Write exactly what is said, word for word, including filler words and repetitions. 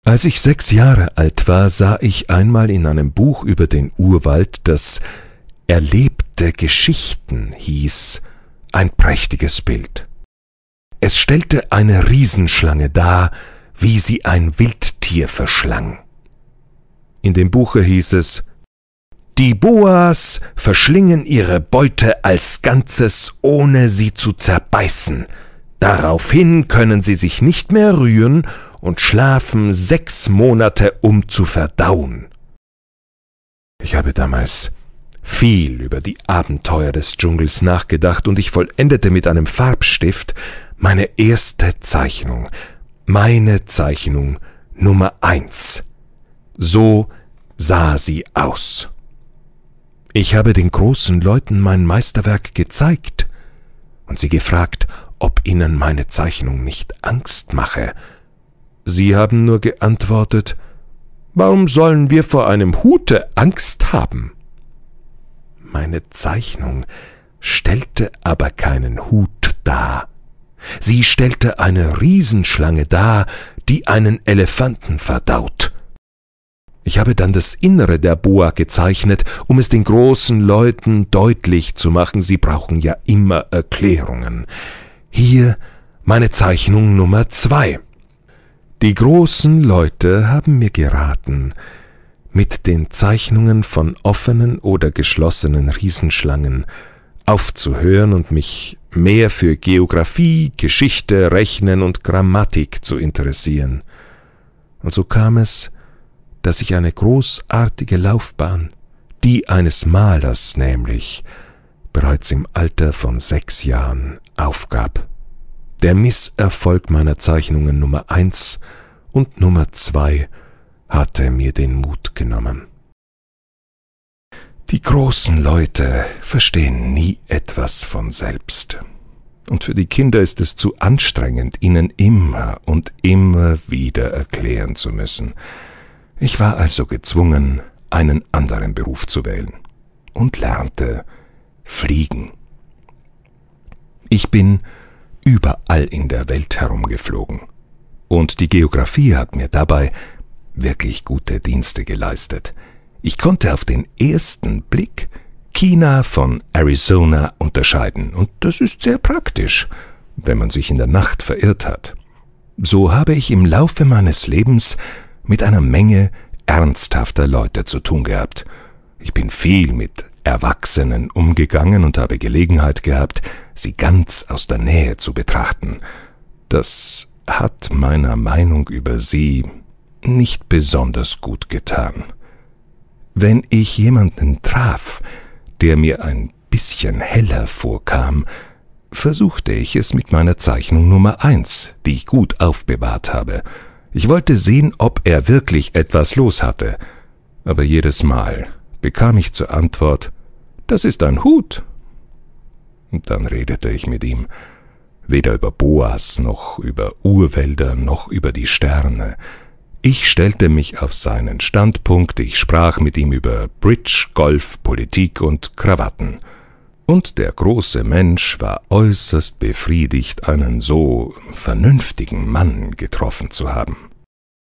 Als ich sechs Jahre alt war, sah ich einmal in einem Buch über den Urwald, das »Erlebte Geschichten« hieß, ein prächtiges Bild. Es stellte eine Riesenschlange dar, wie sie ein Wildtier verschlang. In dem Buche hieß es: »Die Boas verschlingen ihre Beute als Ganzes, ohne sie zu zerbeißen. Daraufhin können sie sich nicht mehr rühren und schlafen sechs Monate, um zu verdauen.« Ich habe damals viel über die Abenteuer des Dschungels nachgedacht und ich vollendete mit einem Farbstift meine erste Zeichnung, meine Zeichnung Nummer eins. So sah sie aus. Ich habe den großen Leuten mein Meisterwerk gezeigt und sie gefragt, ob ihnen meine Zeichnung nicht Angst mache. Sie haben nur geantwortet: »Warum sollen wir vor einem Hute Angst haben?« Meine Zeichnung stellte aber keinen Hut dar. Sie stellte eine Riesenschlange dar, die einen Elefanten verdaut. Ich habe dann das Innere der Boa gezeichnet, um es den großen Leuten deutlich zu machen, sie brauchen ja immer Erklärungen. Hier meine Zeichnung Nummer zwei. Die großen Leute haben mir geraten, mit den Zeichnungen von offenen oder geschlossenen Riesenschlangen aufzuhören und mich mehr für Geographie, Geschichte, Rechnen und Grammatik zu interessieren. Und so kam es, dass ich eine großartige Laufbahn, die eines Malers nämlich, bereits im Alter von sechs Jahren aufgab. Der Misserfolg meiner Zeichnungen Nummer eins und Nummer zwei hatte mir den Mut genommen. Die großen Leute verstehen nie etwas von selbst. Und für die Kinder ist es zu anstrengend, ihnen immer und immer wieder erklären zu müssen. Ich war also gezwungen, einen anderen Beruf zu wählen und lernte fliegen. Ich bin überall in der Welt herumgeflogen und die Geographie hat mir dabei wirklich gute Dienste geleistet. Ich konnte auf den ersten Blick China von Arizona unterscheiden und das ist sehr praktisch, wenn man sich in der Nacht verirrt hat. So habe ich im Laufe meines Lebens mit einer Menge ernsthafter Leute zu tun gehabt. Ich bin viel mit Erwachsenen umgegangen und habe Gelegenheit gehabt, sie ganz aus der Nähe zu betrachten. Das hat meiner Meinung über sie nicht besonders gut getan. Wenn ich jemanden traf, der mir ein bisschen heller vorkam, versuchte ich es mit meiner Zeichnung Nummer eins, die ich gut aufbewahrt habe. Ich wollte sehen, ob er wirklich etwas los hatte, aber jedes Mal bekam ich zur Antwort: »Das ist ein Hut.« Und dann redete ich mit ihm, weder über Boas, noch über Urwälder, noch über die Sterne. Ich stellte mich auf seinen Standpunkt, ich sprach mit ihm über Bridge, Golf, Politik und Krawatten. Und der große Mensch war äußerst befriedigt, einen so vernünftigen Mann getroffen zu haben.